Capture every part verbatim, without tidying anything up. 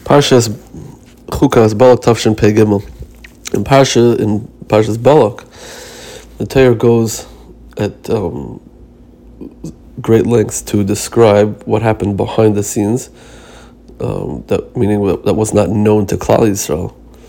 Parshas Chukas Balak Tavshin Pei Gimel. In Parsha in Parshas Balak, the Torah goes at um, great lengths to describe what happened behind the scenes. Um, that meaning that was not known to Klal Yisrael.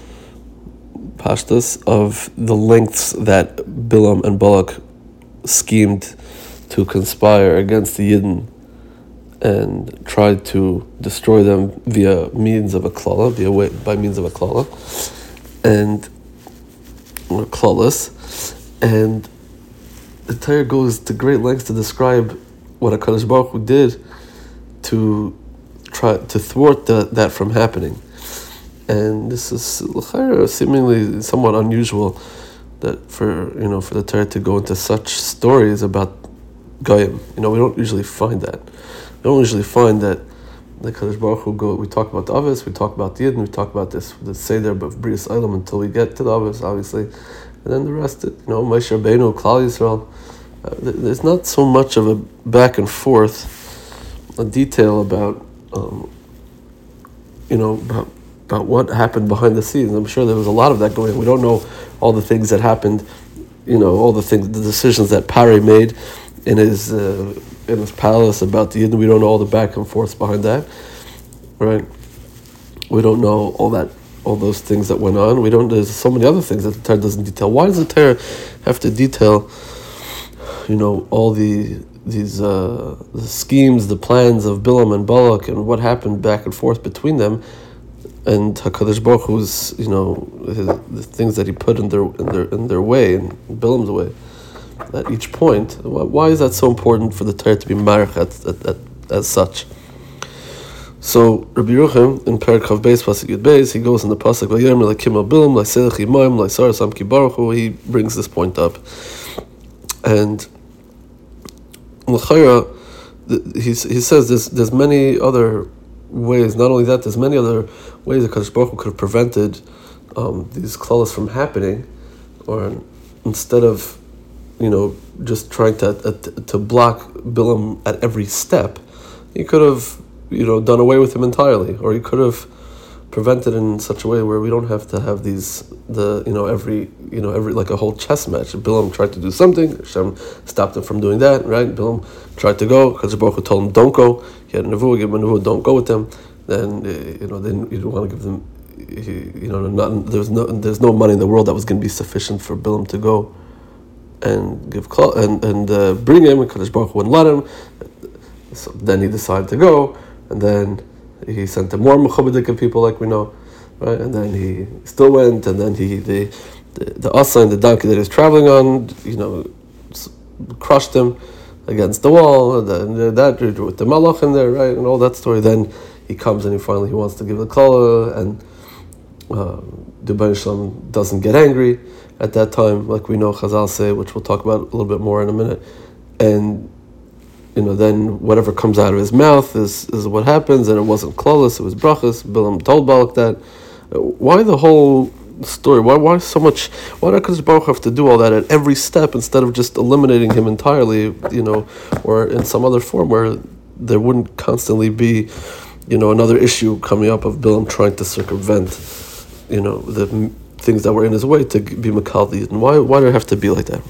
Pashtus of the lengths that Bilam and Balak schemed to conspire against the Yidden and tried to destroy them via means of a klala, via way, by means of a klala, and or klalas, and the Torah goes to great lengths to describe what HaKadosh Baruch Hu did to try to thwart the, that from happening. And this is seemingly somewhat unusual that for you know for the Torah to go into such stories about Goyim. You know, we don't usually find that. We don't usually find that the Kadosh Baruch Hu go. We talk about the Avos, we talk about the Yidden, we talk about this the Seder of Brias Olam until we get to the Avos, obviously, and then the rest. You know, Moshe Rabbeinu, Klal Yisrael. Uh, there's not so much of a back and forth, a detail about, um, you know, about, about what happened behind the scenes. I'm sure there was a lot of that going on. We don't know all the things that happened, you know, all the things, the decisions that Pari made in his uh, in his palace about the Yidden. We don't know all the back and forths behind that, right? We don't know all that, all those things that went on. We don't. There's so many other things that the Torah doesn't detail. Why does the Torah have to detail, you know, all the these uh, the schemes, the plans of Bilam and Balak, and what happened back and forth between them, and Hakadosh Baruch Hu's, you know, his, the things that he put in their in their in their way, in Bilam's way. At each point, why is that so important for the Torah to be marich as such? So Rabbi Yerucham in Perek Chav Beis Pasuk Yud Beis, he goes in the pasuk Vayomer Elokim al Bilam La'Selech Yimayim La'Sar Samki Baruch Hu. He brings this point up, and l'chayra, he he says there's there's many other ways. Not only that, there's many other ways that Kadosh Baruch Hu could have prevented um, these klalas from happening, or instead of, you know, just trying to uh, to block Bilam at every step, he could have, you know, done away with him entirely, or he could have prevented in such a way where we don't have to have these, the, you know, every, you know, every, like a whole chess match. Bilam tried to do something, Hashem stopped him from doing that, right? Bilam tried to go, Kadosh Baruch Hu told him, don't go. He had a nevuah, give him a nevuah, don't go with them. Then, uh, you know, then you don't want to give them, you know, not, there's no, there's no money in the world that was going to be sufficient for Bilam to go and give and and uh, bring him, and Kadosh Baruch Hu wouldn't let him. So then he decided to go, and then he sent him more mechubadik people, like we know, right? And then he still went, and then he the the, the asa and the donkey that he was traveling on, you know, crushed him against the wall, and then that with the malach in there, right, and all that story. Then he comes and he finally he wants to give the kala, and uh, the Rebbeinu Shalom doesn't get angry at that time, like we know Chazal say, which we'll talk about a little bit more in a minute. And, you know, then whatever comes out of his mouth is, is what happens, and it wasn't klalas, it was brachas. Bilam told Balak that. Why the whole story? Why why so much? Why does Kadosh Baruch Hu have to do all that at every step instead of just eliminating him entirely, you know, or in some other form where there wouldn't constantly be, you know, another issue coming up of Bilam trying to circumvent, you know, the things that were in his way to be Makal the Yidden. Why why do it have to be like that?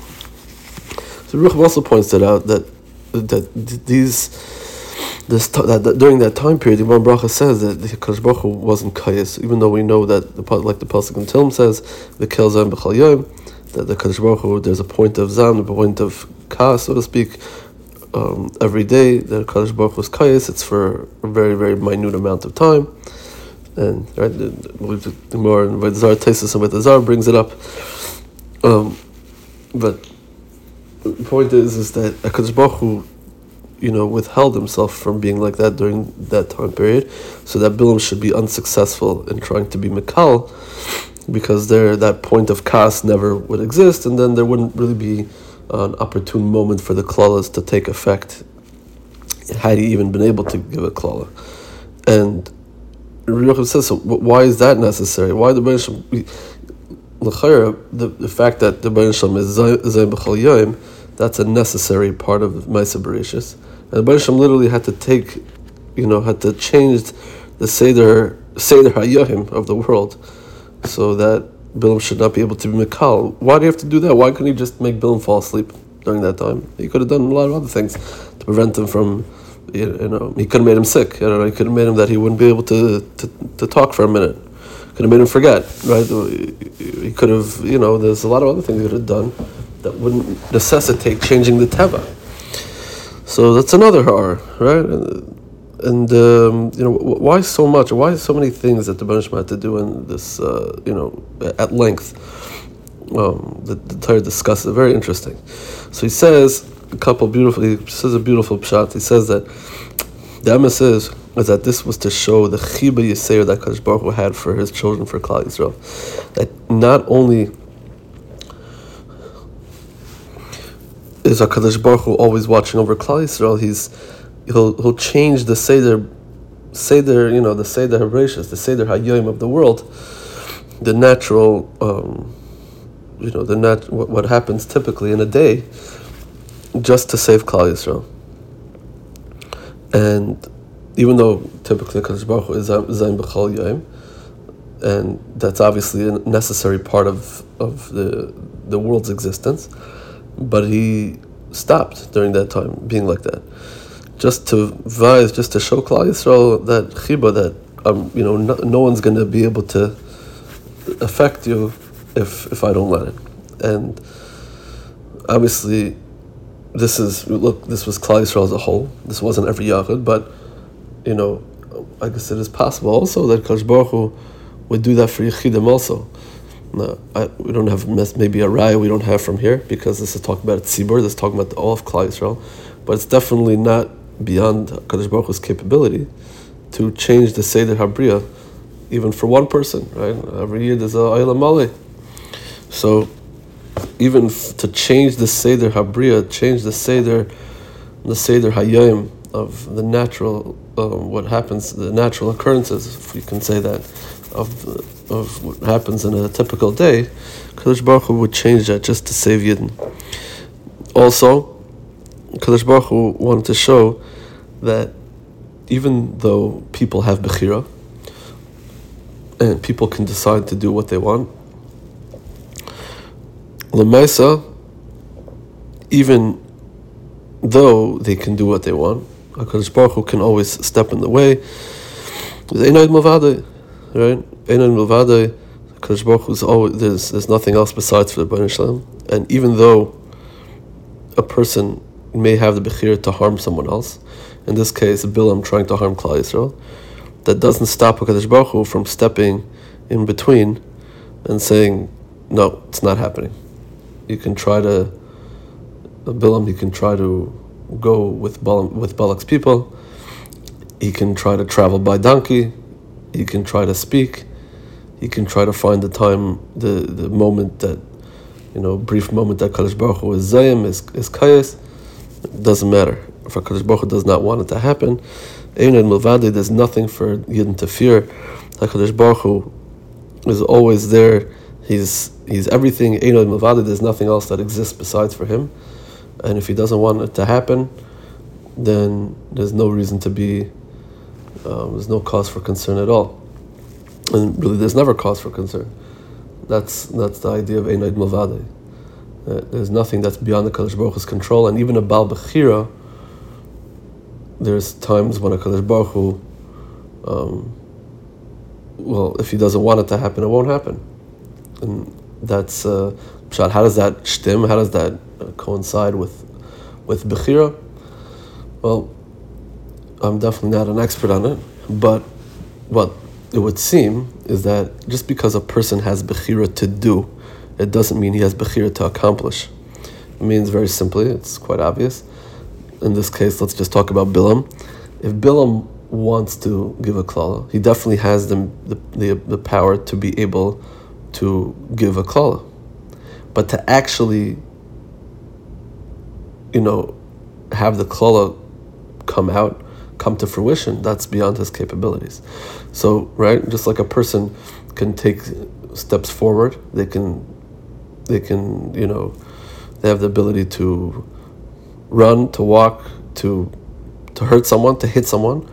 So Ruch also points it out that that these this that, that during that time period, the Imam Bracha says that the Kadosh Baruch Hu wasn't kayas, even though we know that the like the pasuk in Tehillim says the kel zam b'chal yom, that the Kadosh Baruch Hu, there's a point of zam, a point of kas, so to speak, um, every day that Kadosh Baruch Hu was kayas. It's for a very very minute amount of time. And right, the more and the Zar Taisus and the Zar brings it up. Um, but the point is, is that HaKadosh Baruch Hu, you know, withheld himself from being like that during that time period, so that Bilam should be unsuccessful in trying to be Mikal, because there that point of kas never would exist, and then there wouldn't really be an opportune moment for the klalas to take effect, had he even been able to give a klala. And Rabbi says, so why is that necessary? Why the Rebbeinu Shalom, the the fact that the Rebbeinu Shalom is Zayim B'chol Yom, that's a necessary part of Ma'aseh Bereshis. And the Rebbeinu Shalom literally had to take, you know, had to change the Seder Seder Hayahim of the world, so that Bilam should not be able to be Mikal. Why do you have to do that? Why couldn't he just make Bilam fall asleep during that time? He could have done a lot of other things to prevent him from, you know, he could have made him sick. You know, he could have made him that he wouldn't be able to, to, to talk for a minute. Could have made him forget, right? He could have, you know, there's a lot of other things he could have done that wouldn't necessitate changing the teva. So that's another horror, right? And um, you know, why so much? Why so many things that the Rebbeinu Shalom had to do in this, uh, you know, at length? Um, the, the Torah discusses it. Very interesting. So he says a couple beautiful. He says a beautiful pshat. He says that the emes is is that this was to show the chiba yiseir that Kadosh Baruch Hu had for his children, for Klal Yisrael. That not only is HaKadosh Baruch Hu always watching over Klal Yisrael, he's he'll he'll change the Seder Seder, you know, the Seder HaBreishis, the Seder HaYom of the world, the natural um, you know, the nat what, what happens typically in a day, just to save Klal Yisrael. And even though typically HaKadosh Baruch Hu is Zayin B'chol Yom, and that's obviously a necessary part of, of the the world's existence, but he stopped during that time being like that, just to vise, just to show Klal Yisrael that chiba, that um, you know, no, no one's going to be able to affect you if if I don't let it. And obviously, this is look, this was Klal Yisrael as a whole. This wasn't every Yachid, but you know, I guess it is possible also that Kadosh Baruch Hu would do that for Yechidim also. No, I, we don't have maybe a raya we don't have from here, because this is talking about tzibur, this is talking about all of Klal Yisrael, but it's definitely not beyond Kadosh Baruch Hu's capability to change the Seder HaBriya, even for one person, right? Every year there's a Olam Maleh. So even f- to change the Seder HaBriya, change the Seder, the Seder Hayom of the natural, um, what happens, the natural occurrences, if we can say that, of the, of what happens in a typical day, Kadosh Baruch Hu would change that just to save Yidden. Also, Kadosh Baruch Hu wanted to show that even though people have Bechira, and people can decide to do what they want, L'maisa, even though they can do what they want, HaKadosh Baruch Hu can always step in the way. Einayd Milvadei, right? Einayd Milvadei, HaKadosh Baruch Hu's always, there's, there's nothing else besides for the Rebbeinu Shalom. And even though a person may have the Bechira to harm someone else, in this case, Bilam trying to harm Klal Yisrael, that doesn't stop HaKadosh Baruch Hu from stepping in between and saying, no, it's not happening. You can try to, Bilam, he can try to go with Balaam, with Balak's people. He can try to travel by donkey. He can try to speak. He can try to find the time, the, the moment that, you know, brief moment that Kadosh Baruch Hu is Zayim, is, is Kayas. It doesn't matter. If Kadosh Baruch Hu does not want it to happen, Einayd Milvadei, there's nothing for Yidden to fear. HaKadosh Baruch Hu is always there. He's he's everything. Einayd Milvadei, there's nothing else that exists besides for him. And if he doesn't want it to happen, then there's no reason to be, um, there's no cause for concern at all. And really, there's never cause for concern. That's that's the idea of Einayd Milvadei. Uh, there's nothing that's beyond the Kadosh Baruch Hu's control. And even a Baal Bechira, there's times when a Kadosh Baruch Hu, um, well, if he doesn't want it to happen, it won't happen. And that's, uh, how does that shtim, how does that uh, coincide with with Bechira? Well, I'm definitely not an expert on it, but what it would seem is that just because a person has Bechira to do, it doesn't mean he has Bechira to accomplish. It means very simply, it's quite obvious. In this case, let's just talk about Bilam. If Bilam wants to give a klala, he definitely has the, the the the power to be able to give a klala. But to actually, you know, have the klala come out, come to fruition, that's beyond his capabilities. So, right, just like a person can take steps forward, they can, they can, you know, they have the ability to run, to walk, to to hurt someone, to hit someone.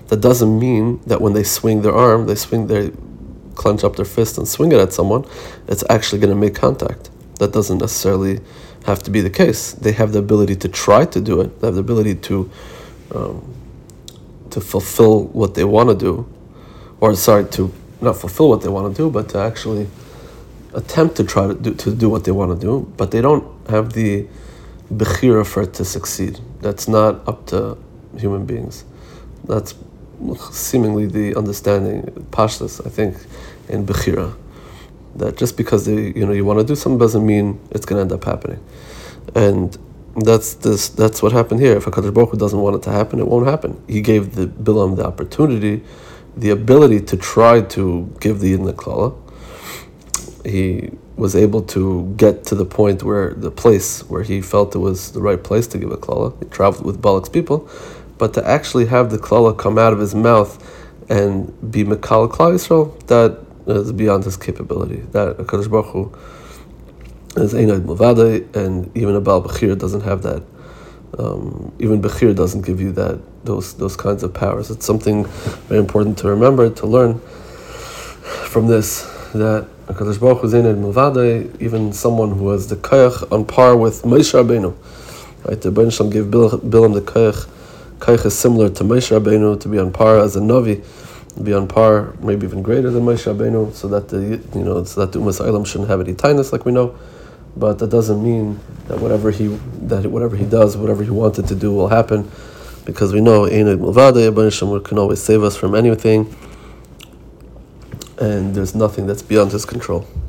that doesn't mean that when they swing their arm, they swing their clench up their fist and swing it at someone, it's actually going to make contact. That doesn't necessarily have to be the case. They have the ability to try to do it. They have the ability to um, to fulfill what they want to do, or sorry, to not fulfill what they want to do, but to actually attempt to try to do to do what they want to do. But they don't have the bechira for it to succeed. That's not up to human beings. That's seemingly the understanding, pashtus, I think, in bechira, that just because they, you know, you want to do something doesn't mean it's going to end up happening. And that's this. That's what happened here. If HaKadosh Baruch Hu doesn't want it to happen, it won't happen. He gave the Bilam the opportunity, the ability to try to give the Yidden Klala. He was able to get to the point where the place where he felt it was the right place to give a klala. He traveled with Balak's people, but to actually have the klala come out of his mouth and be Mekal Klal Yisrael, that is beyond his capability. That HaKadosh Baruch Hu is Einad Muvadei, and even a Baal Bechir doesn't have that. Um, even Bechir doesn't give you that those those kinds of powers. It's something very important to remember, to learn from this, that HaKadosh Baruch Hu is Einad Muvadei, even someone who has the koyach on par with Moshe Rabbeinu. Right? The Rebbeinu Shalom gave Bilam the koyach. Koyach is similar to Moshe Rabbeinu, to be on par as a Navi, to be on par, maybe even greater than Moshe Rabbeinu, so that the you know so that the Umas Eilam shouldn't have any tightness, like we know. But that doesn't mean that whatever he that whatever he does, whatever he wanted to do, will happen, because we know Einad Muvadei, Rebbeinu Shalom can always save us from anything, and there's nothing that's beyond his control.